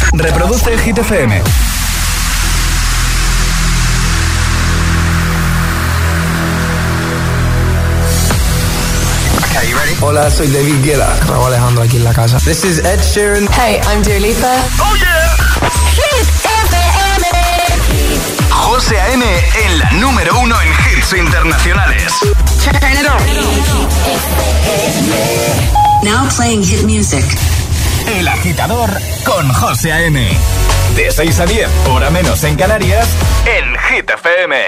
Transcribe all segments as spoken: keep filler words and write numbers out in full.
Reproduce Hit F M. Okay, you ready? Hola, soy David Guetta. Raúl Alejandro aquí en la casa. This is Ed Sheeran. Hey, I'm Dua Lipa. ¡Oh, yeah! Hit F M. José A M en la número uno en hits internacionales. Turn it on. Now playing hit music. El Agitador con José A M. De seis a diez, hora menos en Canarias, en Hit F M.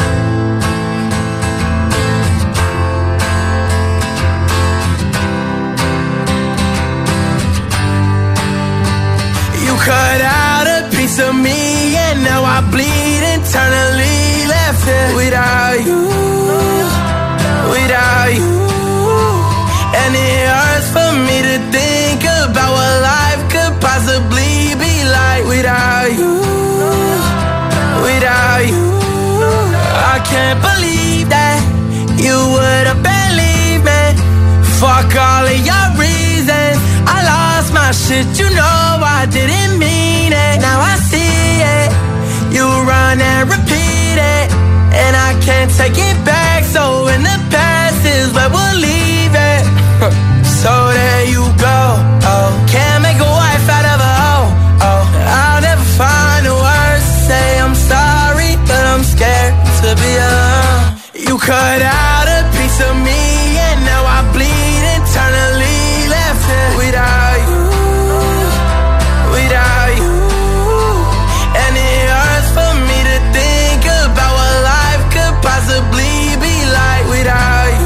You cut out a piece of me and now I bleed internally, left it without you, without you. And it hurts for me to think about what life could possibly be like without you, without you. I can't believe that you would have believed me. Fuck all of your reasons. I lost my shit, you know I didn't mean it. Now I see it. You run and repeat it, and I can't take it back. So in the past is where we'll leave it. So there you go. Oh, can't make a wife out of a hoe. Oh, I'll never find the words to say I'm sorry, but I'm scared to be alone. You cut out a piece of me, and now I bleed internally, left it without you, without you. And it hurts for me to think about what life could possibly be like without you,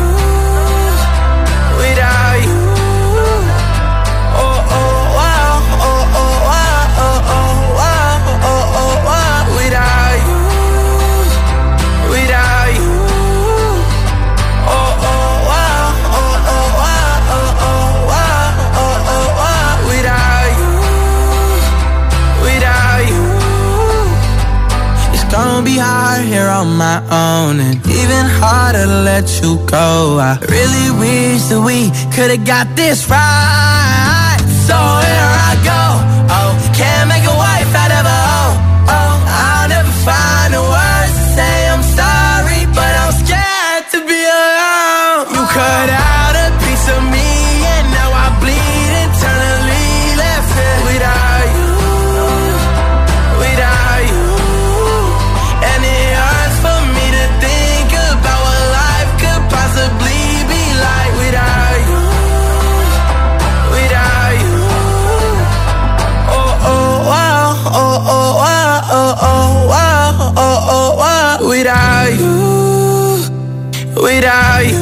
without you. Oh, oh, wow, oh, oh, wow, oh, oh, wow, oh, oh, wow, without you, without you. Oh, oh, wow, oh, oh, wow, oh, oh, wow, oh, oh, wow, without you, without you. It's gonna be hard here on my own, and even harder to let you go. I really wish that we could've got this right. So here I go. Oh, can't make a wife out of a hoe. Oh, I'll never find the words to say I'm sorry, but I'm scared to be alone. You cut out a piece of me, and now I bleed internally, left it without you, without you. And it hurts for me to think about what life could possibly be like without you, without you. Oh, oh, wow, oh, oh, wow, oh, oh, wow, oh, oh, wow, without you, without you.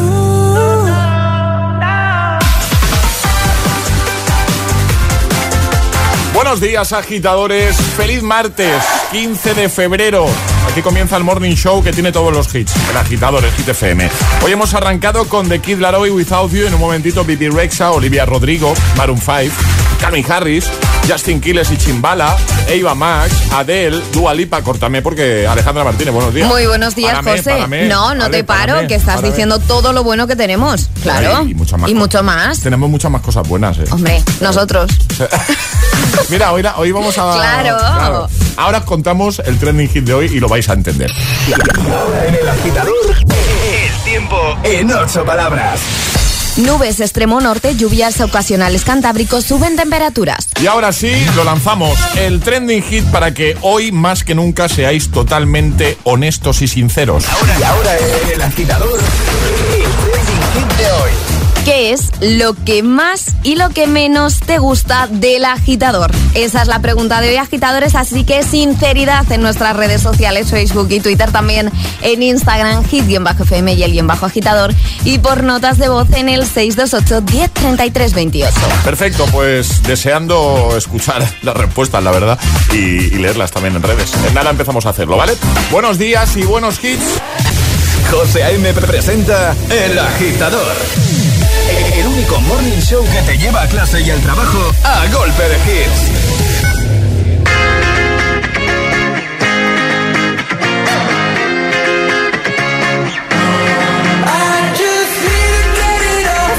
Buenos días, agitadores. Feliz martes, quince de febrero. Aquí comienza el Morning Show que tiene todos los hits. El Agitador, el Hit F M. Hoy hemos arrancado con The Kid Laroi, Without You. En un momentito, Bibi Rexha, Olivia Rodrigo, Maroon cinco, Calvin Harris, Justin Quiles y Chimbala, Eva Max, Adele, Dua Lipa. Córtame porque Alejandra Martínez, buenos días. Muy buenos días, párame, José. párame, no, no vale, te paro, párame, que estás párame. diciendo todo lo bueno que tenemos. Claro. Ay, y mucho más. Y mucho más. Tenemos muchas más cosas buenas, ¿eh? Hombre, nosotros. Mira, hoy, hoy vamos a... Claro. claro. Ahora os contamos el trending hit de hoy y lo vais a entender. Ahora en el Agitador, el tiempo en ocho palabras. Nubes extremo norte, lluvias ocasionales cantábricos, suben temperaturas. Y ahora sí, lo lanzamos. El trending hit para que hoy más que nunca seáis totalmente honestos y sinceros. Ahora, y ahora en el Agitador, el trending hit de hoy. ¿Qué es lo que más y lo que menos te gusta del agitador? Esa es la pregunta de hoy, agitadores, así que sinceridad en nuestras redes sociales, Facebook y Twitter, también en Instagram, hit-f m y el guión bajo agitador, y por notas de voz en el seis dos ocho, diez, treinta y tres, veintiocho. Perfecto, pues deseando escuchar las respuestas, la verdad, y, y leerlas también en redes. En nada empezamos a hacerlo, ¿vale? Buenos días y buenos hits. José A M presenta El Agitador, el único morning show que te lleva a clase y al trabajo a golpe de hits.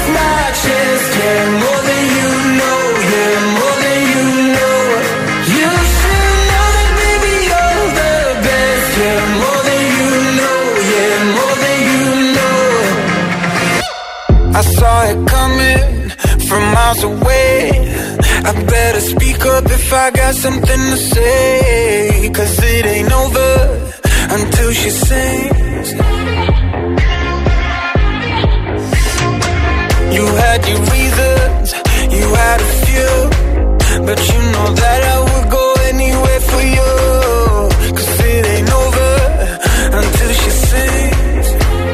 More than you know, yeah, more than you know. You miles away. I better speak up if I got something to say. Cause it ain't over until she sings. You had your reasons, you had a few, but you know that I would go anywhere for you. Cause it ain't over until she sings.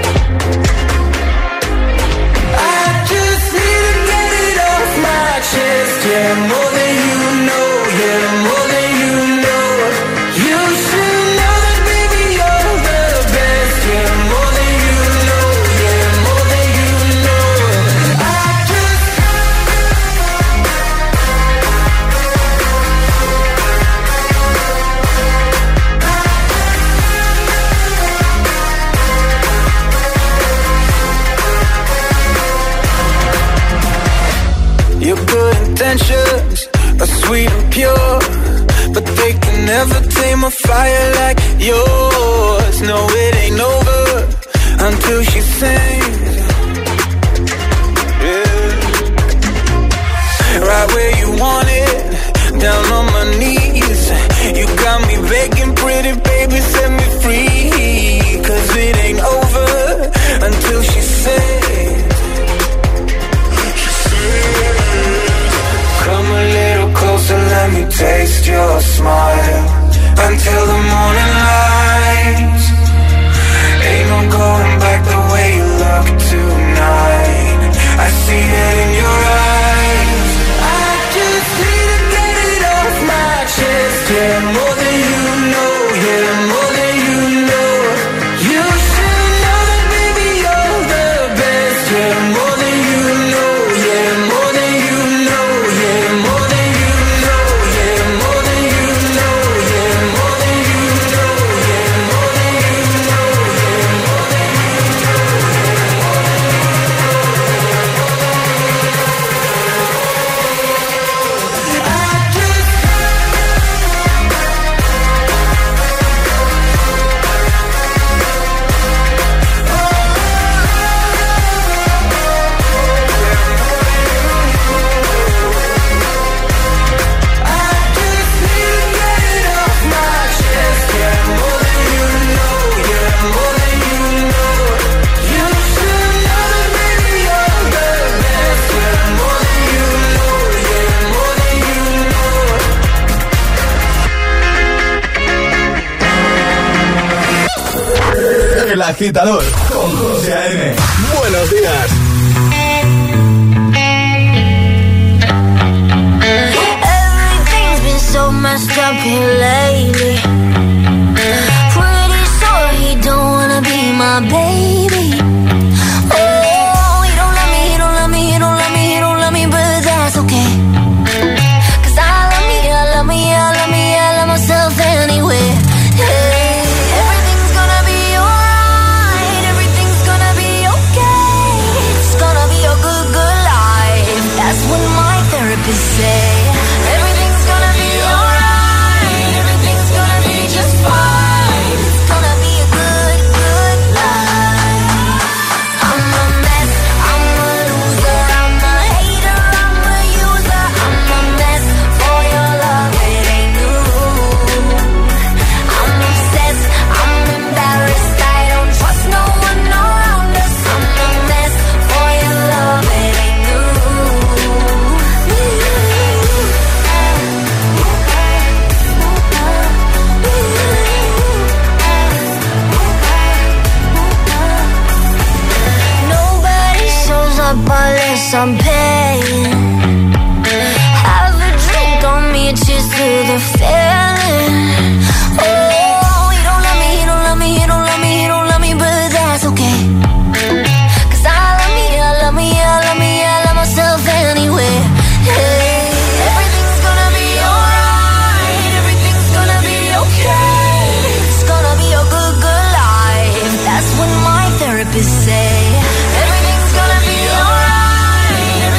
I just need to get it off my chest. Yeah, more than you know, yeah, more than you know. You should know that baby you're the best. Yeah, more than you know, yeah, more than you know. I just your good intentions are sweet and pure, but they can never tame a fire like yours. No, it ain't over until she sings. Yeah. Right where you want it, down on my knees. You got me begging, pretty baby, set me free. Cause it ain't over until she sings. Come a little closer, let me taste your smile. Until the morning light. Ain't no going back the way you look tonight. I see it in your eyes. I just need to get it off my chest. Yeah, more than you know, yeah, more than you know. You should know that baby you're the best. Yeah, more than you know, yeah, more than you know, yeah, more than you know, yeah, more than you know, yeah, more than you know, yeah, more than you know, yeah, more than El Agitador con José A M. Buenos días. Everything's been so messed up here lately. Pretty sure he don't wanna be my baby. Oh, he don't love me, he don't love me, he don't love me, he don't love me, but that's okay. Cause I love me, I love me, I love me, I love myself anyway. Hey, everything's gonna be alright, everything's gonna be okay. It's gonna be a good, good life. That's what my therapist say. Everything's gonna be alright, everything's gonna be just fine. It's gonna be a good, good life. I'm a mess, I'm a loser, I'm a hater, I'm a user. I'm a mess for your love, it ain't new. I'm obsessed, I'm embarrassed, I don't trust no one around us. I'm a mess for your love, it ain't new. Nobody shows up unless I'm paying. Have a drink on me, cheers to the feeling. Oh, he don't love me, he don't love me, he don't love me, he don't love me, but that's okay. Cause I love me, I love me, I love me, I love myself anyway. Hey, everything's gonna be alright, everything's gonna be okay. It's gonna be a good, good life. That's what my therapist say. Everything's gonna be alright.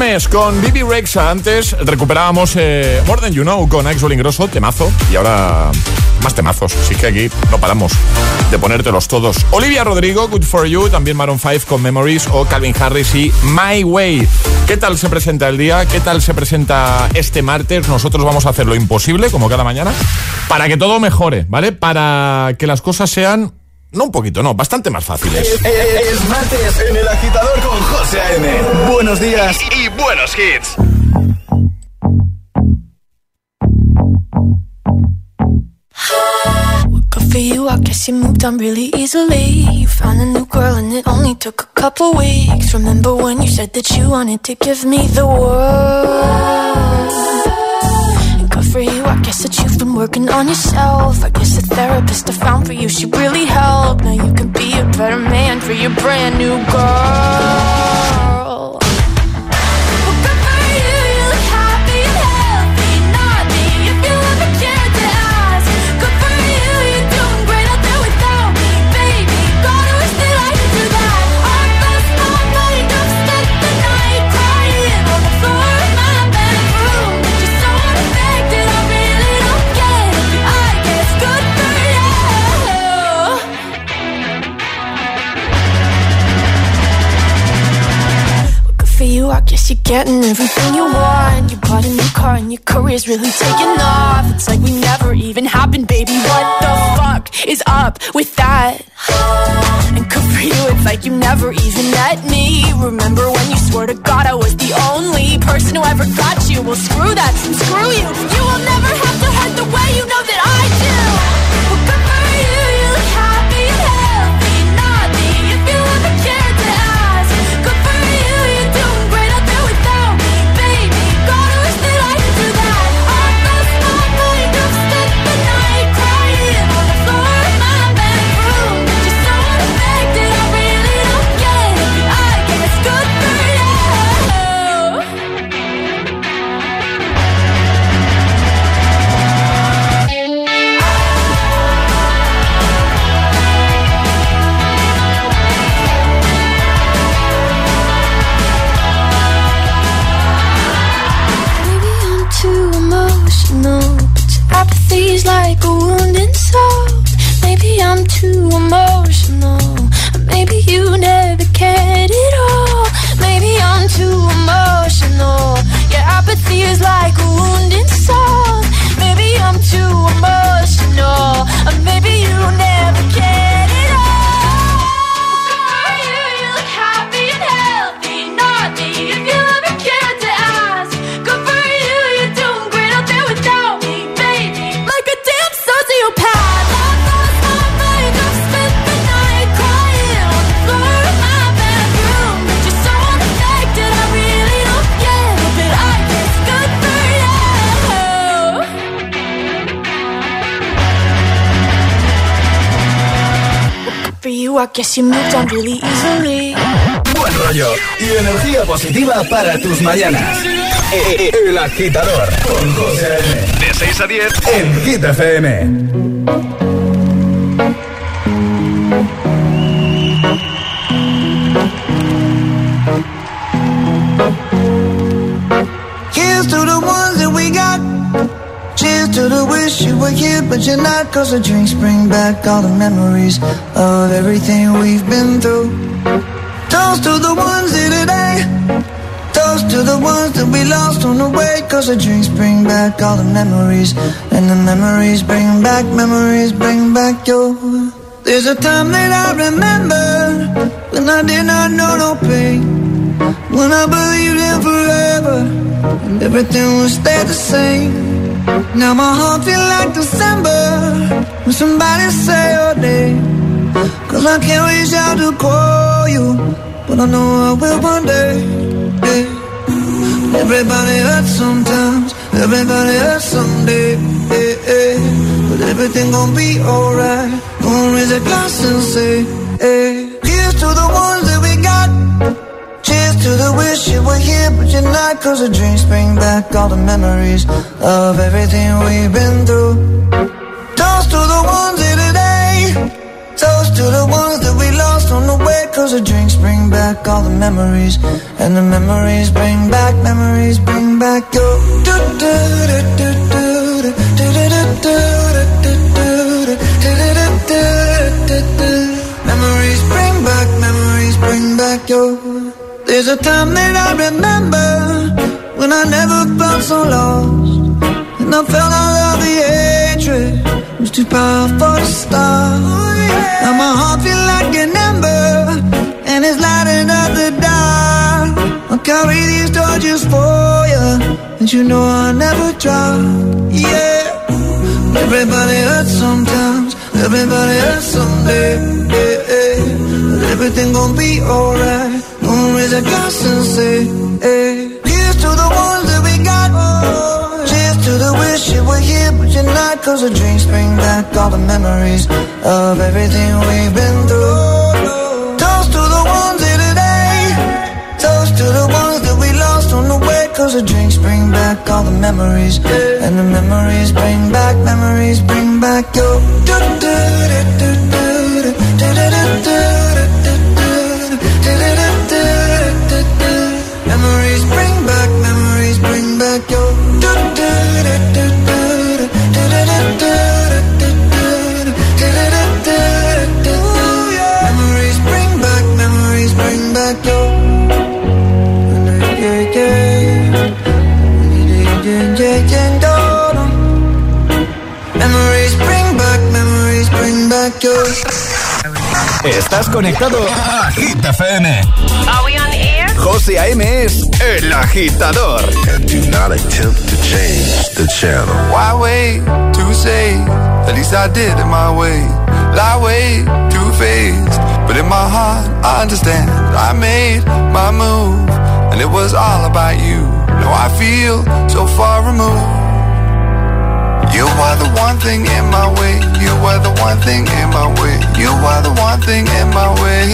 Mes con Bibi Rexha. Antes recuperábamos eh, More Than You Know con Axel Ingrosso, temazo. Y ahora más temazos. Así que aquí no paramos de ponértelos todos. Olivia Rodrigo, Good For You. También Maroon cinco con Memories. O Calvin Harris y My Way. ¿Qué tal se presenta el día? ¿Qué tal se presenta este martes? Nosotros vamos a hacer lo imposible, como cada mañana, para que todo mejore, ¿vale? Para que las cosas sean... No un poquito, no, bastante más fáciles. Es, es, es martes en El Agitador con José A M. Buenos días y, y buenos hits. Good for you, I guess you moved on really easily. You found a new girl and it only took a couple weeks. Remember when you said that you wanted to give me the world? Good for you, I guess that you've been working on yourself. I guess the therapist I found for you, she really helped. Now you can be a better man for your brand new girl. Well, good for you, you look happy and healthy. Not me, if you ever cared to ask. Good for you, you're doing great out there without me, baby. Gotta wish that I could do that. Our best not night, I've spent the night crying on the floor of my bedroom. But you're so unaffected, I really don't get it. I guess good for you. Good for you, I guess you're getting everything you want. You bought a new car and your career's really taking off. It's like we never even happened, baby. What the fuck is up with that? And good for you, it's like you never even met me. Remember when you swore to God I was the only person who ever got you? Well, screw that, screw you. You will never have to hurt the way you know that I do. Well, good for you, you look happy and healthy. Not me, if you ever cared to ask. Good for you, you're doing great out there without me, baby. Gotta wish that I could do that. Our best not night, I've spent the night crying on the floor of my bedroom. But you're so unaffected, I really don't get it. I guess good for you. Maybe I'm too emotional, but your apathy's like a wounded soul. Maybe I'm too emotional, or maybe you never cared at all. Maybe I'm too emotional, your apathy is like a wounded soul. Maybe I'm too emotional, or maybe you never cared at all. Good for you, you look happy and healthy. Not me, if you ever cared to ask. Good for you, you're doing great out there without me, baby. Like a damn sociopath. Love lost my mind, I've spent the night crying on the floor of my bedroom. But you're so unaffected, I really don't get it. But I guess good for you. Good for you, I guess you moved on really easily. Buen rollo y energía positiva para tus mañanas. E- e- El Agitador con José A M. De seis a diez en Hit F M. Here's to the ones that we got. Cheers to the wish you were here, but you're not. Cause the drinks bring back all the memories of everything we've been through. Toast to the ones here today. Toast to the ones that we lost on the way. Cause the drinks bring back all the memories. And the memories bring back, memories bring back your. There's a time that I remember when I did not know no pain. When I believed in forever and everything would stay the same. Now my heart feels like December when somebody say your name. Cause I can't reach out to call you, but I know I will one day, yeah. Everybody hurts sometimes, everybody hurts someday, yeah, yeah. But everything gon' be alright. Gonna raise a glass and say, hey. Here's to the ones that we got. Cheers to the wish you were here, but you're not. Cause the drinks bring back all the memories of everything we've been through. Toast to the ones here today. Toast to the ones that we lost on the way, cause the drinks bring back all the memories. And the memories bring back, memories bring back your do do do do do do do do do. Memories bring back, memories bring back your. There's a time that I remember when I never felt so lost, and I felt all of the hatred was too powerful to stop. Now my heart feel like an ember, and it's lighting up the dark. I'll carry these torches for you, and you know I'll never drop. Yeah, everybody hurts sometimes, everybody hurts someday. Yeah, yeah. But everything gon' be alright. Gonna raise a glass and say, hey, here's to the ones that we got. Cheers to the wish you were here, but you're not. Cause the drinks bring back all the memories of everything we've been through. Toast to the ones here today. Toast to the ones that we lost on the way. Cause the drinks bring back all the memories. And the memories bring back, memories bring back your do do do do do do do do do. Memories bring back, memories bring back your do do do do do do do do. Memories bring back, memories bring back your yeah yeah yeah yeah. Memories bring back, memories bring back your. Estás conectado a Hit F M. Are we on air? José A M es El Agitador. And do not attempt to change the channel. Why wait to say? At least I did it my way. Lie way too faced, but in my heart I understand. I made my move, and it was all about you. Now I feel so far removed. You are the one thing in my way. You are the one thing in my way. You are the one thing in my way.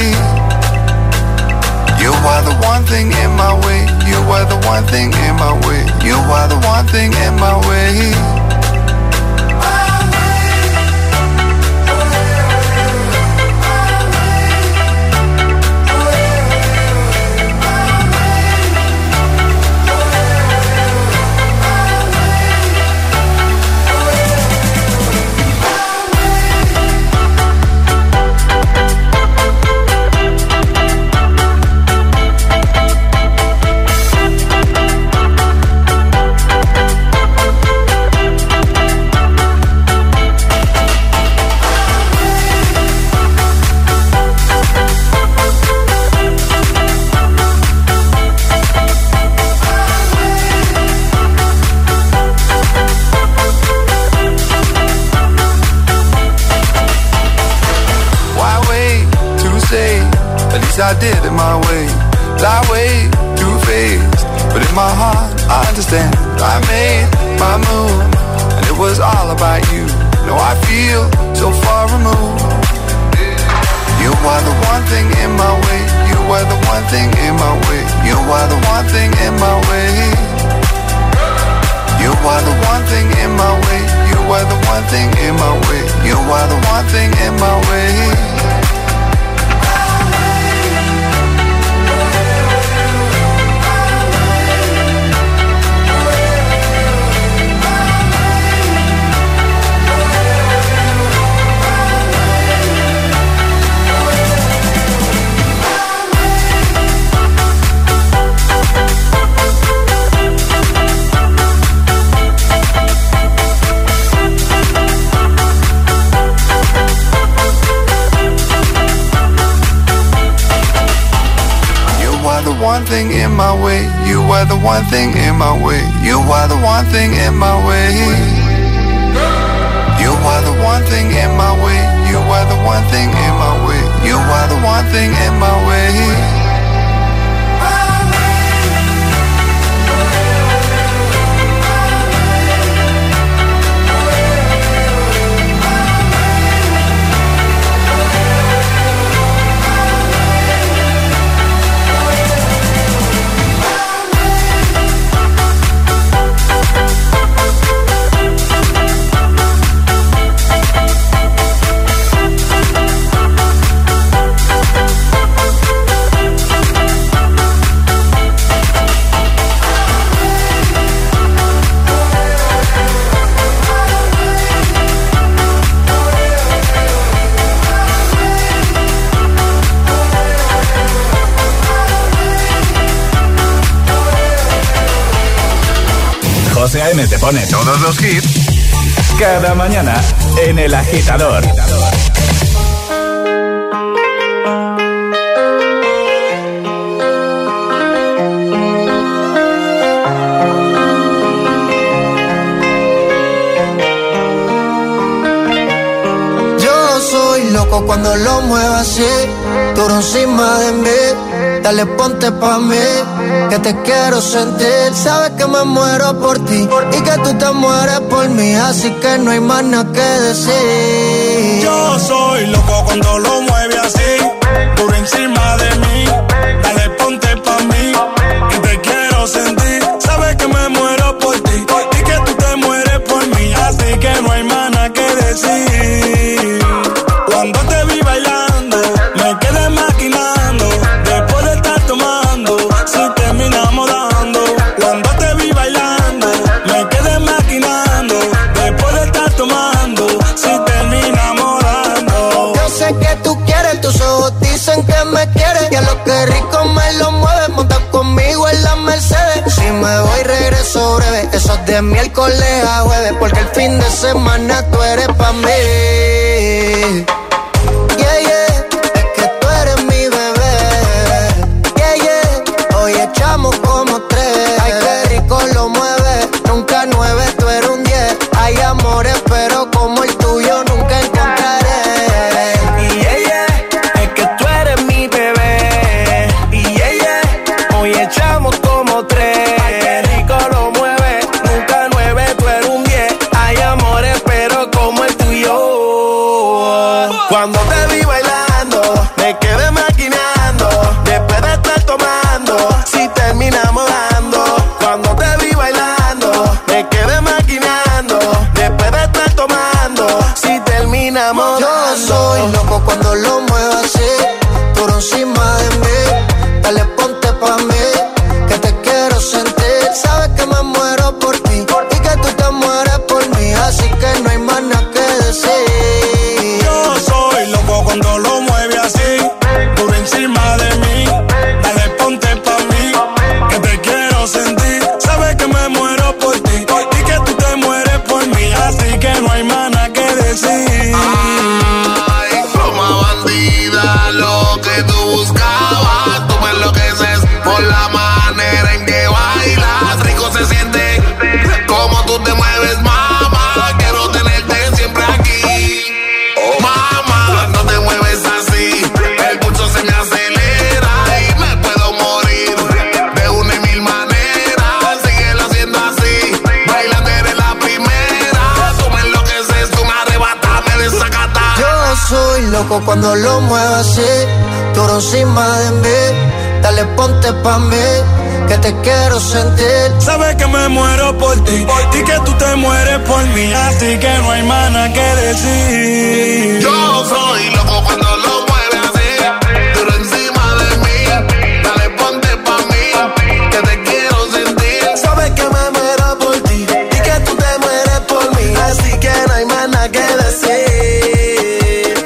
You are the one thing in my way. You are the one thing in my way. You are the one thing in my way. I did it my way, lie way too faced, but in my heart I understand. I made my move, and it was all about you. Now I feel so far removed. You are the one thing in my way. You are the one thing in my way. You are the one thing in my way. You are the one thing in my way. You are the one thing in my way. You are the one thing in my way. One thing in my way, you are the one thing in my way. You are the one thing in my way. You are the one thing in my way. You are the one thing in my way. You are the one thing in my way. A M te pone todos los hits cada mañana en El Agitador. Yo soy loco cuando lo muevo así, duro encima de mí. Dale, ponte pa' mí, que te quiero sentir. Sabes que me muero por ti y que tú te mueres por mí, así que no hay más nada que decir. Yo soy loco cuando lo mueve así, duro encima de mí. Dale, ponte pa' mí, que te quiero sentir. Sabes que me muero por ti y que tú te mueres por mí, así que no hay más nada que decir. Cuando te vi bailando, me quedé maquinando. Después de estar tomando, si terminamos dando. Cuando te vi bailando, me quedé maquinando. Después de estar tomando, si terminamos dando. Yo sé que tú quieres, tus ojos dicen que me quieres. Y a lo que rico me lo mueves, monta conmigo en la Mercedes. Si me voy regreso breve, eso es de miércoles a jueves, porque el fin de semana tú eres pa' mí. Yeah, yeah, es que tú eres mi bebé. Yeah, yeah, hoy echamos como tres. Ay, qué rico lo mueve, nunca nueve, tú eres un diez. Hay amores, pero como el tuyo nunca encontraré. Y yeah, yeah, es que tú eres mi bebé. Y yeah, yeah, hoy echamos como tres. Ay, qué rico lo mueve, nunca nueve, tú eres un diez. Hay amores, pero como el tuyo. Cuando te vi bailando, me quedé maquinando. Después de estar tomando, si terminamos dando. Cuando te vi bailando, me quedé maquinando. Después de estar tomando, si terminamos Yo dando. soy loco cuando lo muevo así, duro encima de mí. Dale, ponte pa' mí, que te quiero sentir. Sabes que me muero por ti y que tú te mueres por mí, así que no hay más nada que decir. Yo soy loco cuando lo mueve así, duro encima de mí. Dale, ponte pa' mí, que te quiero sentir. Sabes que me muero por ti y que tú te mueres por mí, así que no hay más nada que decir. Ay, como bandida, lo que tú buscabas, tú me enloqueces por la manera en que bailas. Rico se siente como tú te mueves, mamá. Quiero tenerte siempre aquí. Oh, mamá, no te mueves así, el pulso se me acelera y me puedo morir de una y mil maneras. Síguelo haciendo así, bailando eres la primera. Tú me enloqueces, tú me arrebatas, me desacatas. Yo soy loco cuando lo muevo así, duro encima de mí. Dale, ponte pa' mí, que te quiero sentir. Sabes que me muero por ti y que tú te mueres por mí, así que no hay más nada que decir. Yo soy loco cuando lo mueve así, duro encima de mí. Dale, ponte pa' mí, que te quiero sentir. Sabes que me muero por ti y que tú te mueres por mí, así que no hay más nada que decir.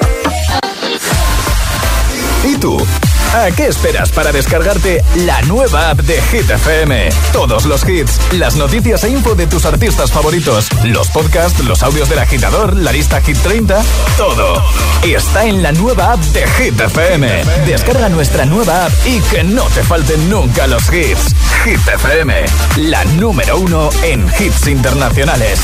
¿Y tú? ¿A qué esperas para descargarte la nueva app de Hit F M? Todos los hits, las noticias e info de tus artistas favoritos, los podcasts, los audios del agitador, la lista Hit treinta, todo está en la nueva app de Hit F M. Descarga nuestra nueva app y que no te falten nunca los hits. Hit F M, la número uno en hits internacionales.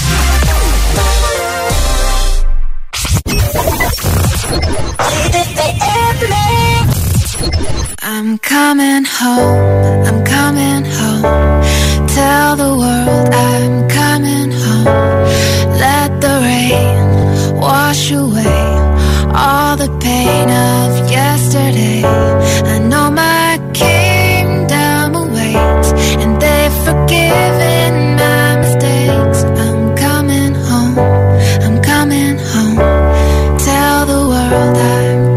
I'm coming home, I'm coming home. Tell the world I'm coming home. Let the rain wash away all the pain of yesterday. I know my kingdom awaits, and they've forgiven my mistakes. I'm coming home, I'm coming home. Tell the world I'm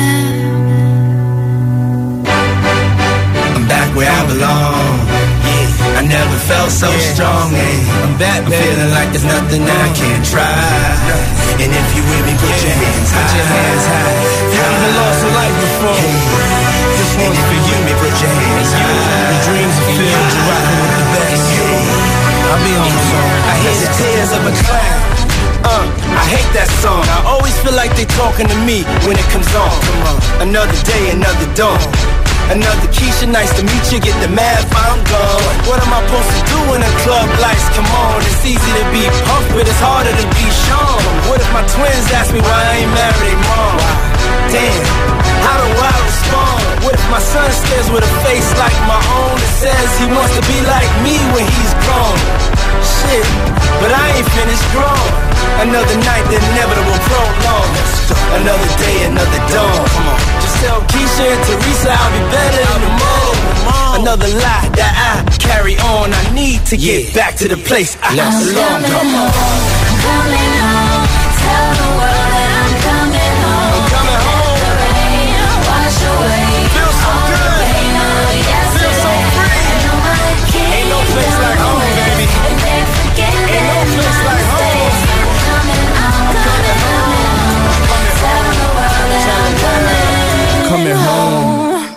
where I belong. Yeah, I never felt so yeah. strong. Yeah. I'm back, I'm feeling like there's nothing I can't try. And if you with me, put yeah. your hands high. Put your hands high. You even lost a life before. Yeah. This one's for you. Me, put your hands high. The dreams are filled. You're rocking with the best. Yeah. I'll be on the phone. I hear the tears of a clown. Uh, I hate that song. I always feel like they talking to me when it comes on. Come on. Another day, another dawn. Another Keisha, nice to meet you. Get the math, I'm gone. What am I supposed to do when the club lights come on? It's easy to be pumped, but it's harder to be Sean. What if my twins ask me why I ain't married their mom? Damn, how do I respond? What if my son stares with a face like my own that says he wants to be like me when he's grown? Shit, but I ain't finished grown. Another night, the inevitable prolong. Another day, another dawn. Come on. Just tell Keisha and Teresa I'll be better in the morning. Another lie that I carry on. I need to get yeah. back to the place I belong. Come on. I'm coming home. Tell the world that I'm coming home. I'm coming home. The rain wash away. Feel so all good. the pain of yesterday. Feel so free. I know I can't Ain't no place like home, baby. And they're forgetting Ain't no place my like home. mistakes. I'm coming home. Coming home. Tell the world that I'm coming, coming home.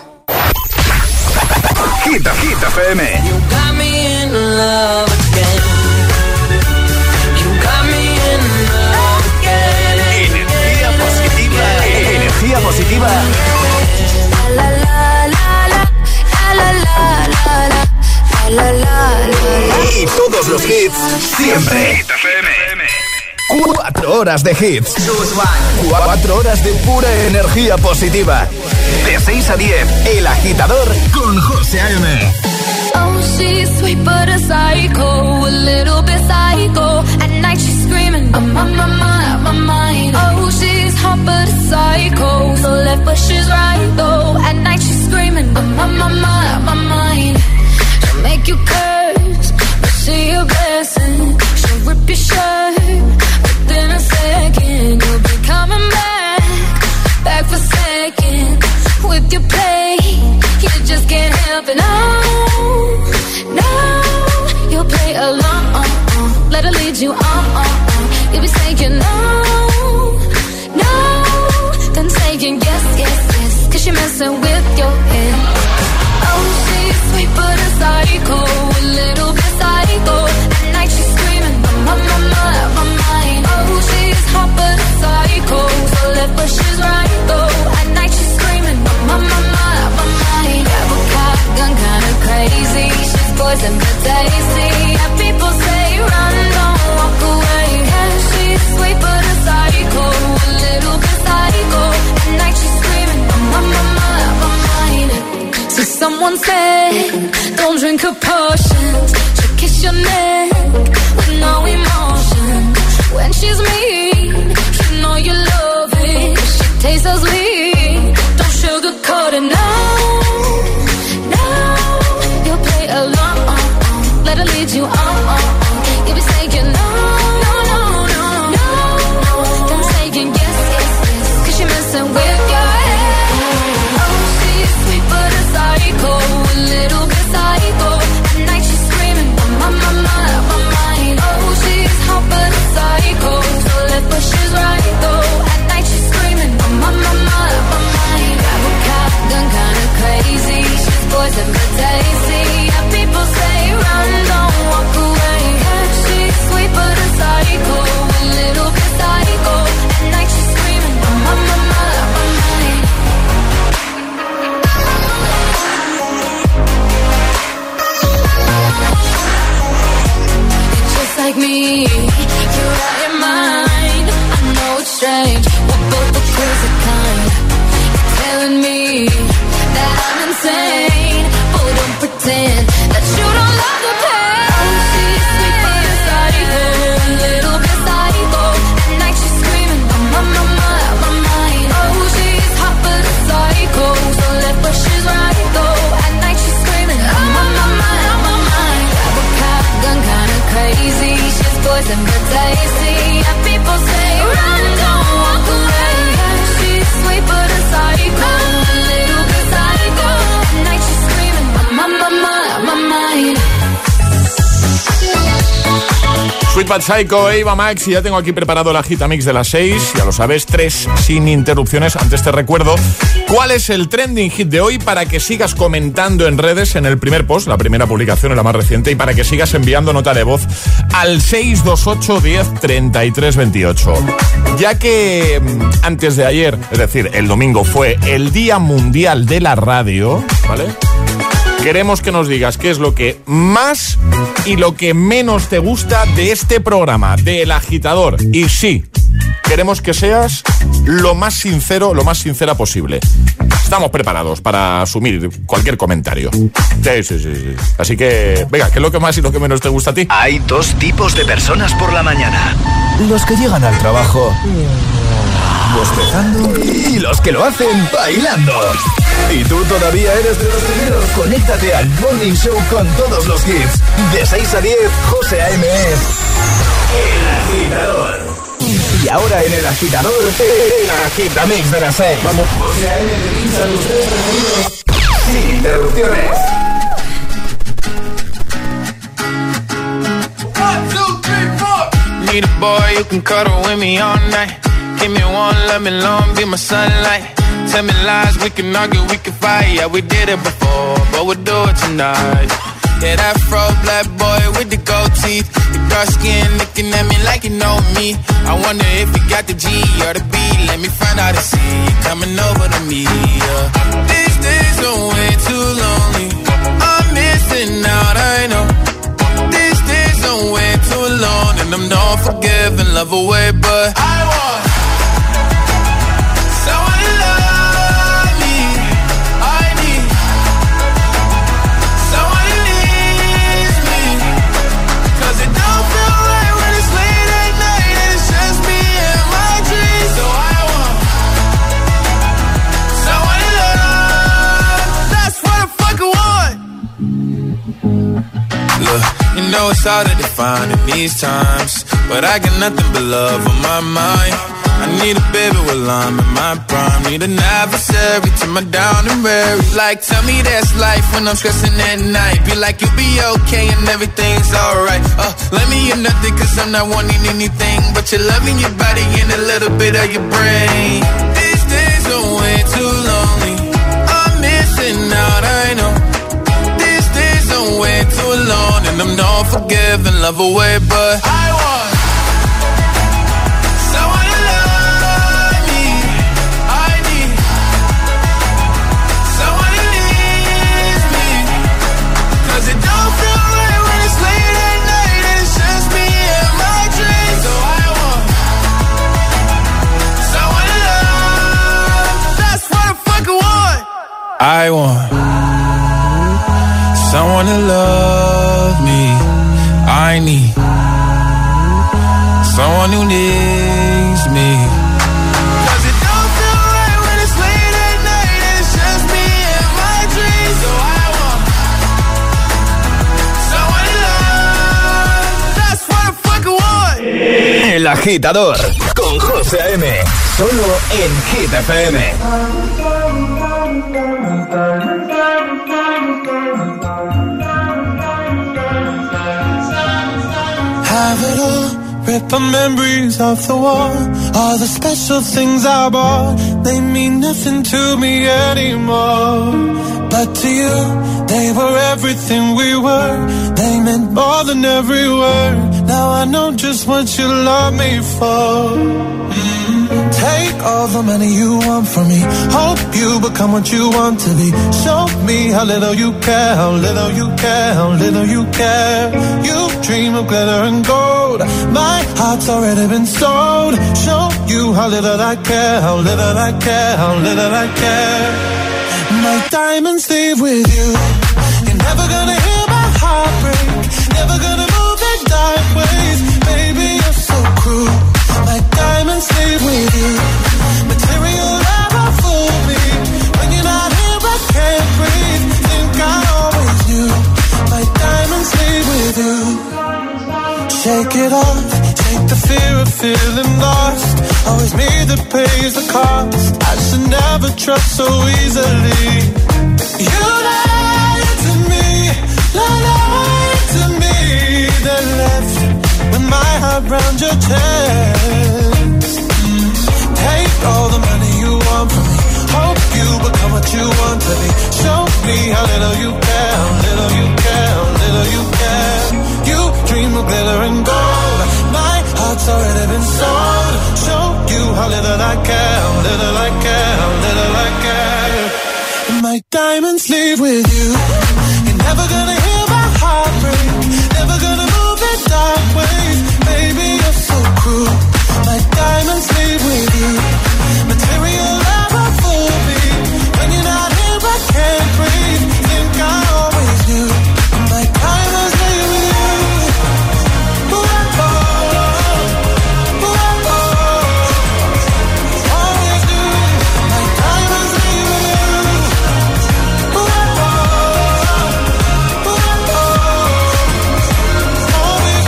Hit, Hit F M. You got me in love again. You got me in love again. Energía positiva. Energía positiva. La la la la la la la la la la. Y todos los hits siempre. Hit F M. Cuatro horas de hits. Cuatro horas de pura energía positiva. De seis a diez, El Agitador con José A M. Oh, she's sweet but a psycho, a little bit psycho. At night she's screaming, I'm on my mind, my mind. Oh, she's hot but a psycho, so left but she's right though. At night she's screaming, I'm on my mind, my mind. She'll make you curse, but she a blessing. She'll rip your shirt within a second. You'll be coming back, back for second. With your play, you just can't help it. No, no, you'll play along. Let her lead you on. You'll be saying no, no, then saying yes, yes, yes. Cause you're messing with your head. Oh, she's sweet but a psycho, a little bit psycho. At night she's screaming, my, my, my, my mind. Oh, she's hot but a psycho, so left but she's right though. At night she's screaming, my, my, my, my mind. Grab a cop gun, kinda crazy. She's poison but tasty. And people say run, don't walk away. Yeah, she's sweet but a psycho, a little bit psycho. At night she's screaming, my, my, my, my mind. So someone said, don't drink her potions. She'll kiss your neck with no emotion. When she's mean, you know you love it. She tastes so sweet, don't sugarcoat it, no, no. You'll play along, let her lead you on. You'll be saying no, no, no, no, no. Then saying yes, yes, yes. Cause you're messing with your head. Oh, she's sweet but a psycho, a little bit psycho. At night she's screaming, my, my, my, my mind. Oh, she's hot but a psycho, so left but she's right though. At night she's screaming, my, my, my, my mind. Grab a cop gun, kinda crazy. She's poison but tasty. And people say run, don't walk away. Yeah, she's sweet but a psycho, a little bit psycho. At night she's screaming, my, my, my, my mind. You're just like me, you're out your mind. I know it's strange, we're both the crazy kind. You're telling me that I'm insane, but don't pretend that you don't love the pain. Oh, she's sweet but a psycho, a little bit psycho. At night she's screaming, my, my, my, my mind. Oh, she's hot but a psycho, so left but she's right though. At night she's screaming, my, my, my, my mind. Grab a cop gun, kinda crazy. She's poison but tasty. And people say run, don't walk away. Yeah, she's sweet but a psycho, a little bit psycho. At night she's screaming, my, my, my, my mind. Sweet Bad Psycho, Eva Max, y ya tengo aquí preparado la Gitamix de las seis. Ya lo sabes, tres sin interrupciones. Antes te recuerdo cuál es el trending hit de hoy para que sigas comentando en redes en el primer post, la primera publicación, la más reciente, y para que sigas enviando nota de voz al seis dos ocho, diez, treinta y tres, veintiocho. Ya que antes de ayer, es decir, el domingo, fue el Día Mundial de la Radio, ¿vale? Queremos que nos digas qué es lo que más y lo que menos te gusta de este programa, de El Agitador. Y sí, queremos que seas lo más sincero, lo más sincera posible. Estamos preparados para asumir cualquier comentario. Sí, sí, sí, sí. Así que, venga, ¿qué es lo que más y lo que menos te gusta a ti? Hay dos tipos de personas por la mañana. Los que llegan al trabajo bostezando y los que lo hacen bailando. Y tú todavía eres de los primeros. Conéctate al Morning Show con todos los hits. De seis a diez, José A M. El Agitador. Y ahora en El Agitador, el Agitamix de las seis. Vamos. José A M te pincha los tres preferidos sin interrupciones. One, two, three, four. Need a boy who can cuddle with me all night. Give me one, let me long, be my sunlight. Tell me lies, we can argue, we can fight. Yeah, we did it before, but we'll do it tonight. Yeah, that fro black boy with the gold teeth, the dark skin looking at me like you know me. I wonder if you got the G or the B. Let me find out and see you coming over to me. Yeah. These days are way too lonely. I'm missing out, I know. These days are way too alone, and I'm not forgiving, love away, but I want. You know it's hard to define in these times, but I got nothing but love on my mind. I need a baby while I'm in my prime. Need an adversary to my down and weary. Like, tell me that's life when I'm stressing at night. Be like, you'll be okay and everything's alright. Uh, let me hear nothing cause I'm not wanting anything but your love in your body and a little bit of your brain. These days are way too lonely. I'm missing out, I know. Way too alone, and I'm not forgiving, love away, but I want someone to love me. I need someone who needs me, cause it don't feel right when it's late at night and it's just me and my dreams. So I want someone to love. That's what I fucking want. I want someone to love me. I need someone who needs me. Cause it don't feel right when it's late at night and it's just me and my dreams. So I want someone to love. That's what I fucking want. El Agitador con José A M. Solo en Hit F M. Have it all, rip the memories off the wall. All the special things I bought, they mean nothing to me anymore. But to you, they were everything we were. They meant more than every word. Now I know just what you love me for. Mm-hmm. Take all the money you want from me. Hope you become what you want to be. Show me how little you care, how little you care, how little you care. You dream of glitter and gold. My heart's already been sold. Show you how little I care, how little I care, how little I care. My diamonds leave with you. You're never gonna hear my heart break. Never gonna move in dark ways. Baby, you're so cruel. My diamonds leave with you. Material never fool me. When you're not here, I can't breathe. Think I always knew. My diamonds leave with you. Shake it off. Take the fear of feeling lost. Always me that pays the cost. I should never trust so easily. You lied to me, lied to me. Then left when my heart round your chest. Take all the money you want from me. Hope you become what you want to be. Show me how little you care, how little you care, how little you care. You dream of glitter and gold. My heart's already been sold. Show you how little I care, how little I care, how little I care. And my diamonds leave with you. You're never gonna hear my heart break. Never gonna move in dark ways. Baby, you're so cruel. My diamonds leave with you. Material never fool me. When you're not here, I can't breathe. Think I always knew. My diamonds leave with you. Ooh, oh, oh, ooh, oh, always knew. My diamonds leave with you. Ooh, oh, ooh, oh, always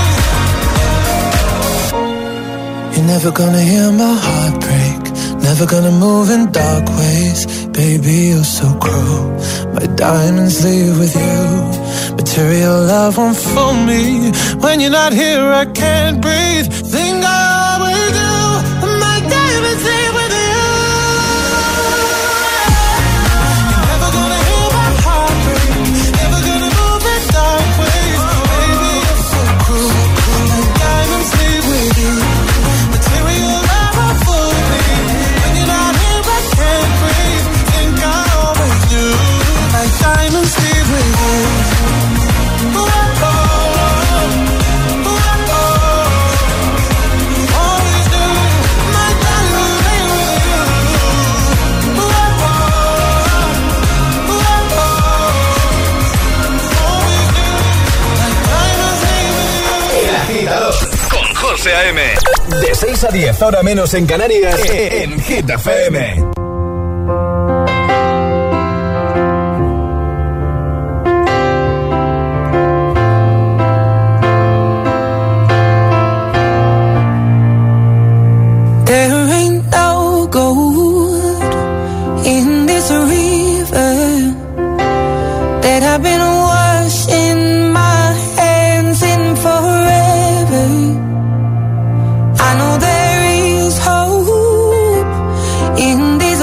knew. You're never gonna hear my heart break. Never gonna move in dark ways. Baby, you're so cruel. My diamonds leave with you. Material love won't fool me. When you're not here, I can't breathe. Think I always do. My diamonds leave with you. You're never gonna hear my heart break. Never gonna move in dark ways. Baby, you're so cruel. My diamonds leave with you. Material love won't fool me. Diamonds leave with you. Ooh, oh, oh, ooh, oh, always do. My diamonds leave with you. Ooh, oh, ooh, oh, always do. My diamonds leave with you. El Agitador con José A M. De seis a diez, hora menos en Canarias, en Hit F M. In this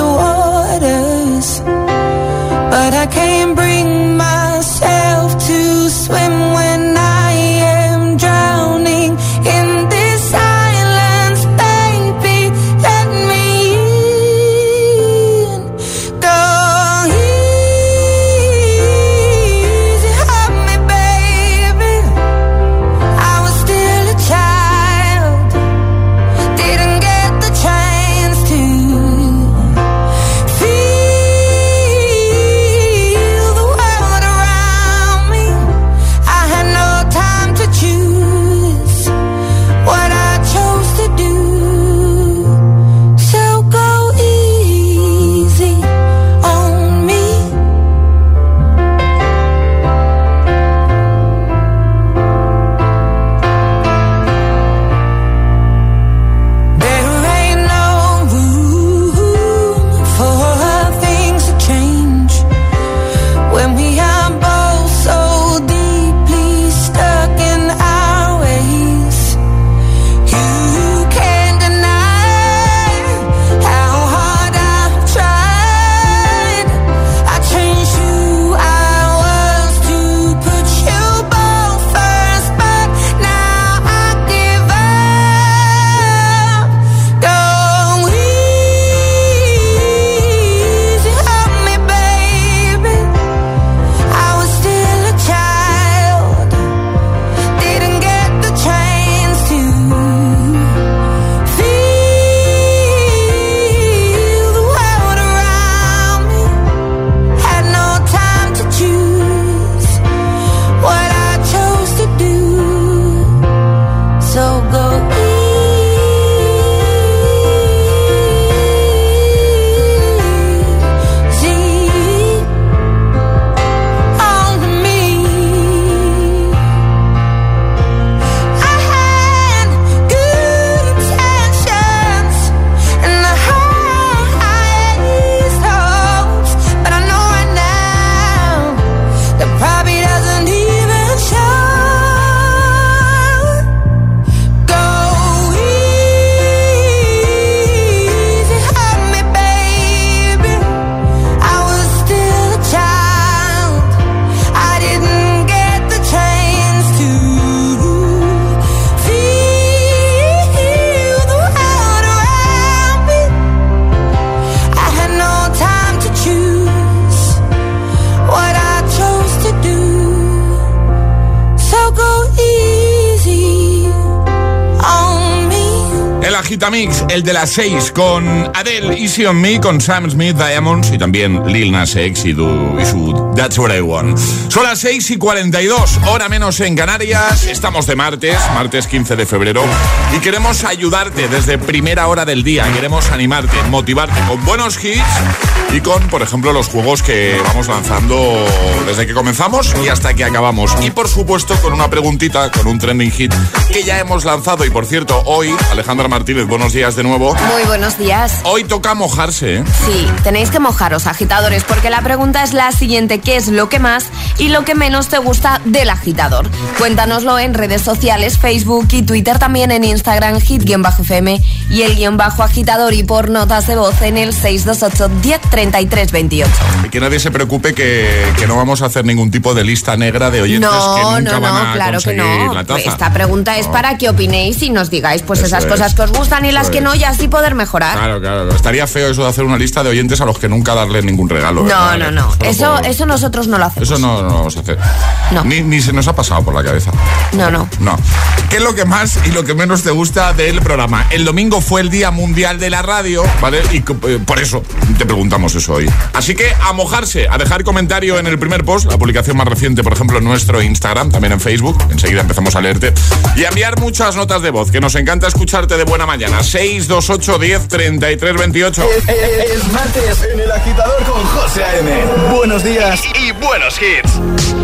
Agitamix, el de las seis, con Adele, Easy on Me, con Sam Smith, Diamonds y también Lil Nas X y, du, y su That's What I Want. Son las seis y cuarenta y dos, hora menos en Canarias. Estamos de martes, martes quince de febrero, y queremos ayudarte desde primera hora del día. Queremos animarte, motivarte con buenos hits y con, por ejemplo, los juegos que vamos lanzando desde que comenzamos y hasta que acabamos. Y por supuesto con una preguntita, con un trending hit que ya hemos lanzado. Y por cierto, hoy, Alejandra Martínez, buenos días de nuevo. Muy buenos días. Hoy toca mojarse, ¿eh? Sí, tenéis que mojaros, agitadores, porque la pregunta es la siguiente: ¿qué es lo que más y lo que menos te gusta del agitador? Cuéntanoslo en redes sociales, Facebook y Twitter, también en Instagram, hit-F M y el guión bajo agitador, y por notas de voz en el seis dos ocho, diez, treinta y tres, veintiocho. Y que nadie se preocupe que, que no vamos a hacer ningún tipo de lista negra de oyentes no, que nunca no, van no, a claro conseguir que no. la taza. Esta pregunta es no. para que opinéis y nos digáis pues Eso esas es. cosas que os gustan y las Eso que es. no, y así poder mejorar. Claro, claro. Estaría feo eso de hacer una lista de oyentes a los que nunca darles ningún regalo. No, ¿verdad? no, no. Solo Eso, por- eso nosotros no lo hacemos. Eso no, no lo vamos a hacer. No. Ni, ni se nos ha pasado por la cabeza. No, no. No. ¿Qué es lo que más y lo que menos te gusta del programa? El domingo fue el Día Mundial de la Radio, ¿vale? Y eh, por eso te preguntamos eso hoy. Así que a mojarse, a dejar comentario en el primer post, la publicación más reciente, por ejemplo, en nuestro Instagram, también en Facebook. Enseguida empezamos a leerte. Y a enviar muchas notas de voz, que nos encanta escucharte de buena mañana. seis dos ocho, diez, treinta y tres, veintiocho. Es, es- es martes en El Agitador con José A M. Buenos días y, y buenos hits.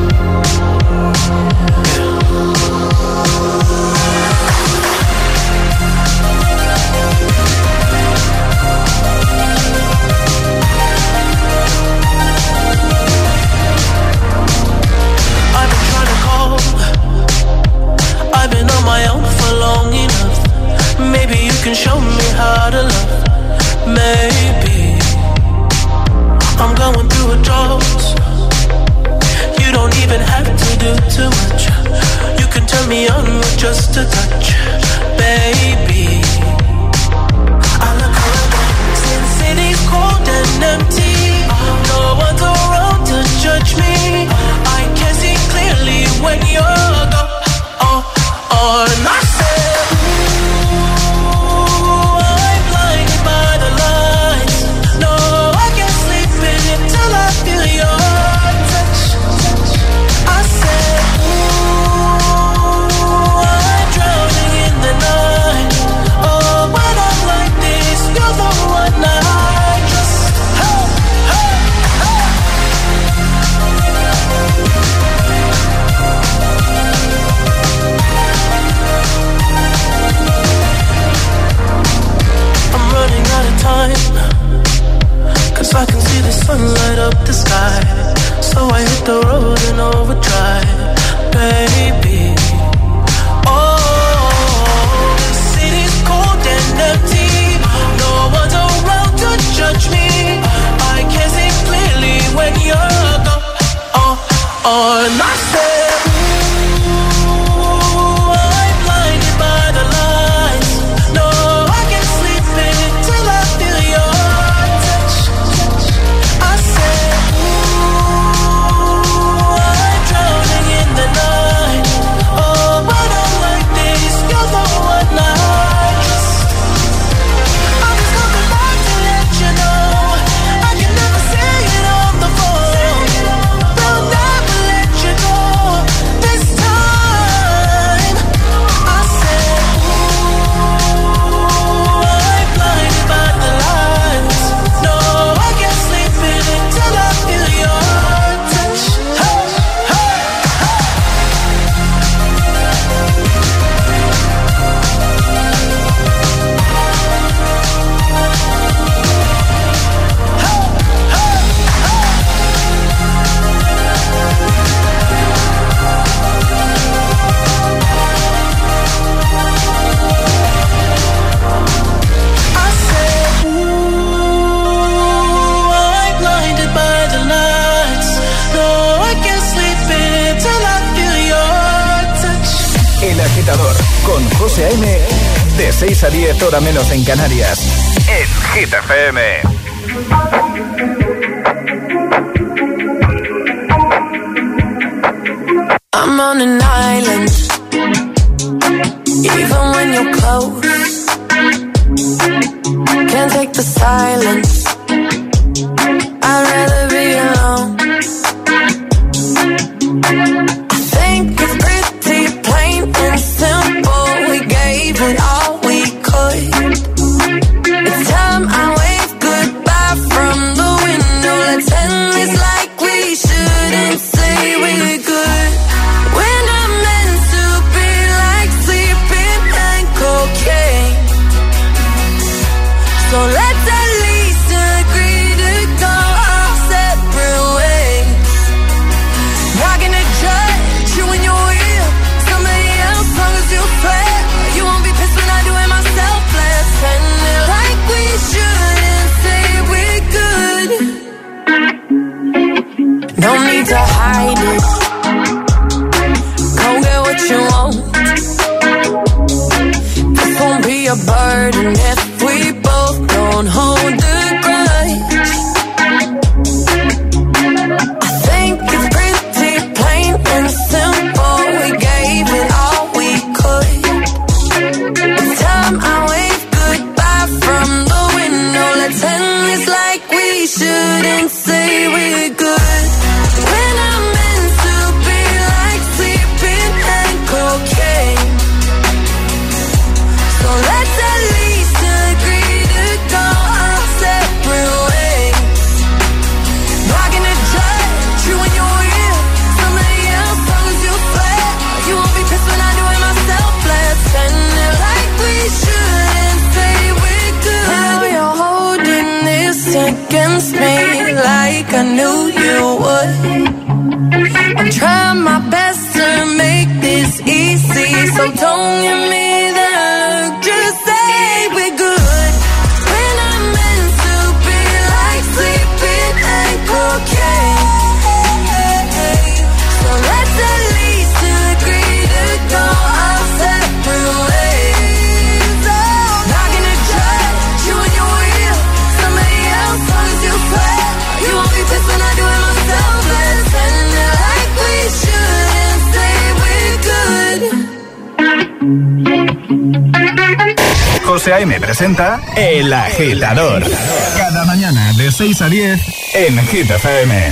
I've been trying to call. I've been on my own for long enough. Maybe you can show me how to love. Maybe I'm going through a drought. You don't even have to do too much. You can turn me on with just a touch, baby. I look around, since city's cold and empty. No one's around to judge me. I can see clearly when you're gone. Oh, oh, and I said, ooh, I'm blinded by the lights. No, I can't sleep until I feel your touch. I said, ooh, I'm drowning in the night. Oh, when I'm like this, you're the one I trust. Hey, hey, hey. I'm running out of time, 'cause I can see the sun light up the sky. So I hit the road in overdrive, baby. Oh, the city's cold and empty. No one's around to judge me. I can see clearly when you're gone. Oh, oh, and I said, ooh, I'm blinded by the lights. No, I can't sleep until I feel your touch. I said, ooh, I'm drowning in the night. Oh, when I'm like this, you're the one I trust. I'm just coming back to let you know I can never say it on the phone. They'll never let you go this time. I said, ooh, I'm blinded by the lights. No, I can't sleep until I feel your touch. Hey, hey, hey. I said, ooh, I'm blinded by the lights. No, I can't sleep until I feel your touch. El Agitador con José A M. De seis a diez, hora menos en Canarias. En Hit F M. I'm on an island, even when you're close. silence. I'd rather be alone. I think it's pretty plain and simple. We gave it all we could. It's time I wave goodbye from the window. Let's end this like we shouldn't say we're good. We're not meant to be like sleeping and cocaine. So let's at least agree to go our separate ways. Not gonna judge you when you're with somebody else, long as you play. You won't be pissed when I do it myself. Let's end it like we shouldn't say we're good. No need to hide it. Go get what you want. This won't be a burden if we both don't hold the grudge. I think it's pretty plain and simple. We gave it all we could. It's time I wave goodbye from the window. Let's end this like we shouldn't say we're good. We're not meant to be like sleeping and cocaine. So let's at least agree to go our separate ways. Not gonna judge you when you're with somebody else, long as you play. You won't be pissed when I do it myself. Let's end it like we shouldn't say we're good. Now you're holding this against me like I knew you would. I'm trying my best to make this easy, so don't give me that look. Just say we're good. We're not meant to be like sleeping and cocaine. So let's at least agree to go our separate ways. Not gonna judge you when you're with somebody else, long as you play. You won't be pissed when I do it myself. Let's end it like we shouldn't say we're good. José A.M. presenta El Agitador. Cada mañana de seis a diez en Hit F M.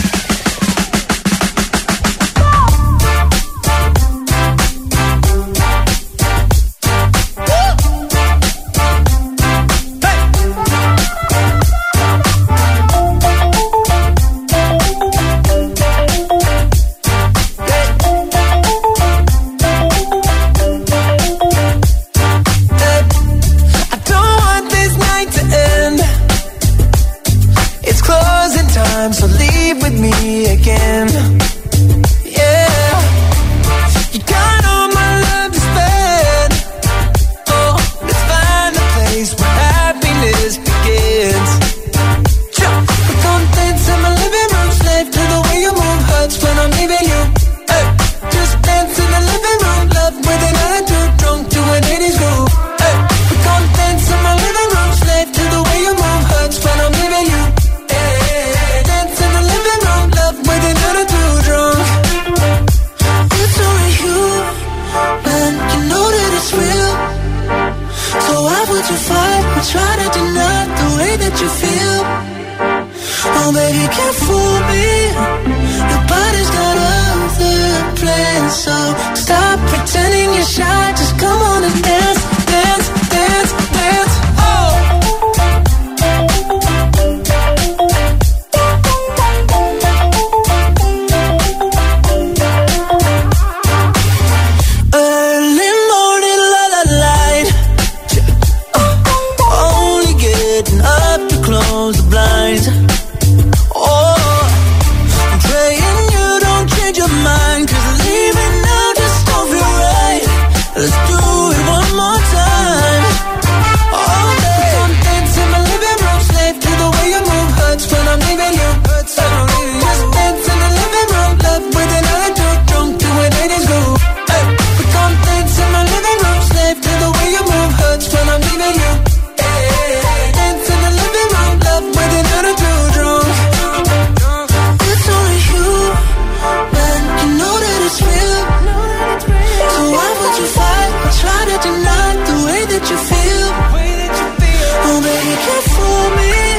I don't want this night to end. It's closing time, so leave with me again. Yeah, you got all my love to spend. Oh, let's find a place where happiness begins. We're gonna dance in my living room, slave to the way you move hurts when I'm leaving you. Hey, just dance in the living room, love with an attitude, drunk to an eighties groove. Hey, we're gonna dance in my living room, slave to the way you move hurts when I'm leaving you. Hey, dance in the living room, love with an attitude, drunk. It's only you, man, you know that it's real. So why would you fight or try to deny the way that you feel? Oh baby, you can't fool me. Your body's got other plans, so stop pretending you're shy. Just come on and dance, dance, dance, dance. Oh. Early morning, la la light. Uh, only getting up to close the blinds. Oh, I'm praying you don't change your mind, 'cause leaving now just don't feel right. Let's do it one more time. All day, I'm dancing in my living room, slave to the way you move hurts when I'm leaving you. Just dance in the living room, love with an attitude, drunk to an eighties groove. Hey, we gon' dance in my living room, slave to the way you move hurts when I'm leaving you. Hey, dance in the living room, love with an attitude, drunk. It's only you, man, you know that it's real. So why would you fight or try to deny the way that you feel? Oh baby, you can't fool me.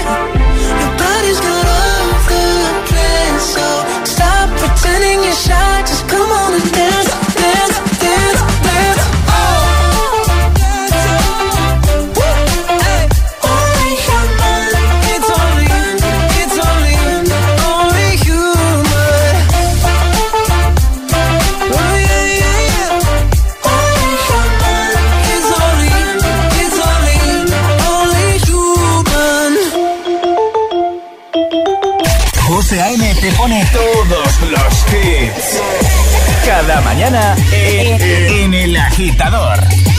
mañana en, en El Agitador.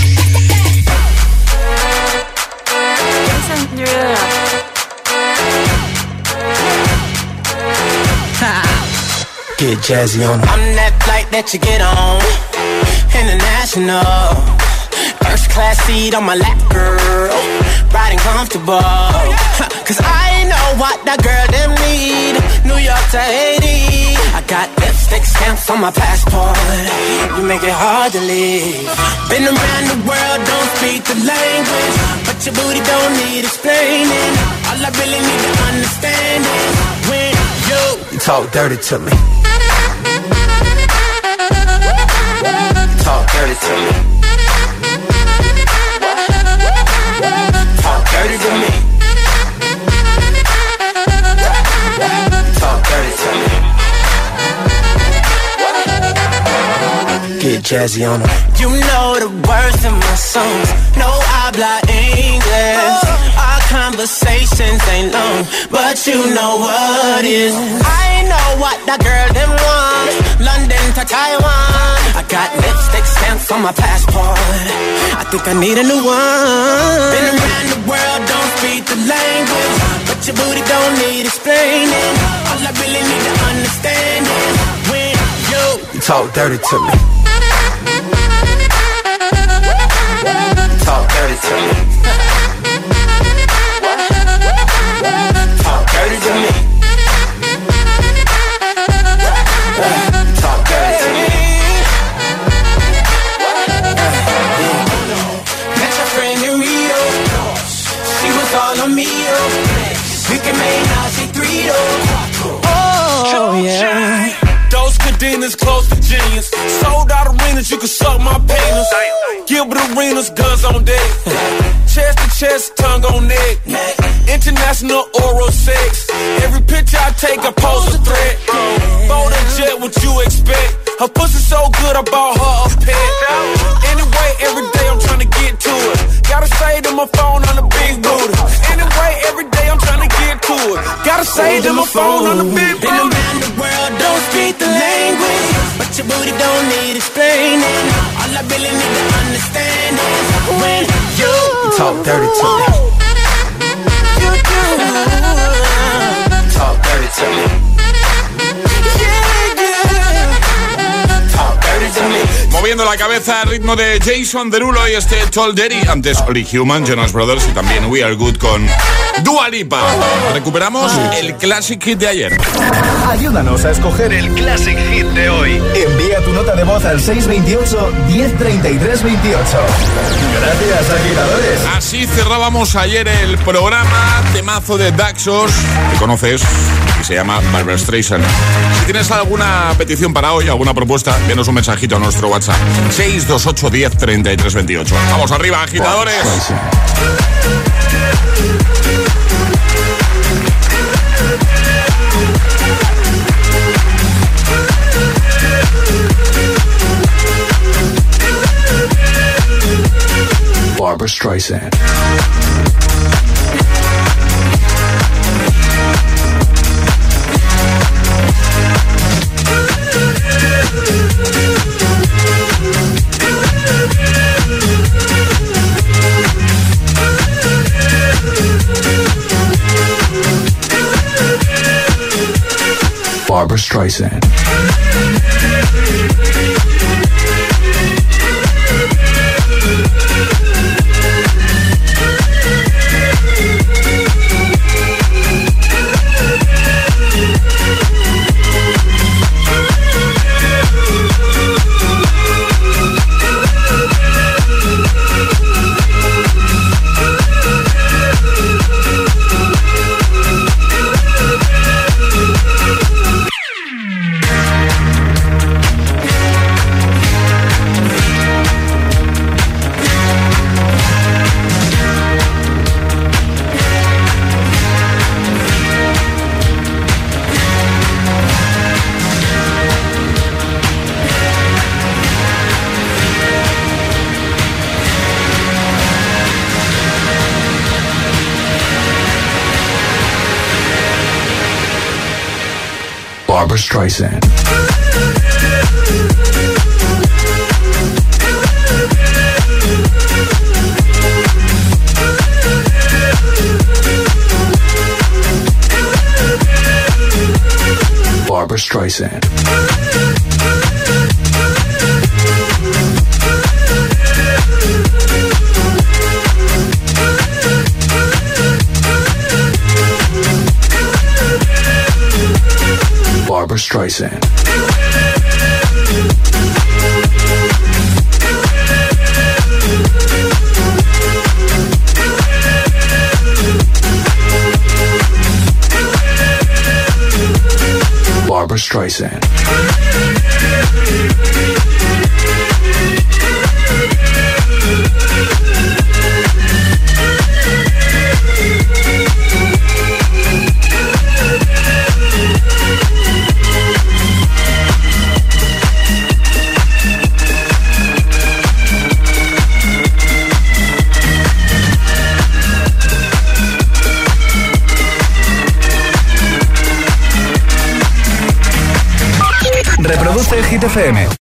Get jazzy on. I'm that flight that you get on. International. First class seat on my lap, girl. Riding comfortable. Cause I know what that girl them need. New York to Haiti. I got lipstick stamps on my passport. You make it hard to leave. Been around the world, don't speak the language. But your booty don't need explaining. All I really need to understand is when you, you talk dirty to me. Talk dirty to me. Talk dirty to me. Talk dirty to me. Get jazzy on them. You know the words in my songs. No habla English. Our conversations ain't long, but you know what is. I know what that girl them want. London to Taiwan. I got lipstick stamps on my passport. I think I need a new one. Been around the world, don't speak the language, but your booty don't need explaining. All I really need to understand is when you, you talk dirty to me. Talk dirty to me. Talk dirty to me. Talk dirty to me. Met your friend in Rio. She was all on me. We can make now she three oh yeah. Those cadenas close to genius. Sold out arenas, you can suck my penis. Gilbert Arenas, guns on deck. Chest to chest, tongue on neck. International oral sex. Every picture I take, I pose a threat. Bold and jet, what you expect? Her pussy so good, I bought her a pet. Anyway, every day I'm trying to get to it. Gotta say to my phone on the big booty. Anyway, every day I'm trying to get to it. Gotta say to my phone on the big booty. Been around the world, don't speak the language, but your booty don't need explaining. All I really need to understand is when you talk dirty to me. You do. Talk dirty to me. Yeah, yeah. Talk dirty to me. Moviendo la cabeza al ritmo de Jason Derulo y este Tall Daddy. Antes Only Human, Jonas Brothers y también We Are Good con Dua Lipa. Recuperamos el Classic Hit de ayer. Ayúdanos a escoger el Classic Hit de hoy. Envía tu nota de voz al seis veintiocho, diez treinta y tres veintiocho. Gracias, agitadores. Así cerrábamos ayer el programa temazo de Daxos, que conoces, y se llama Barbra Streisand. Si tienes alguna petición para hoy, alguna propuesta, envíanos un mensajito a nuestro WhatsApp seis dos ocho, diez treinta y tres veintiocho. Vamos arriba, agitadores. Barbra Streisand. Barbra Streisand. Barbra Streisand. Barbra Streisand. Barbra Streisand. Barbra Streisand. Reproduce Hit F M.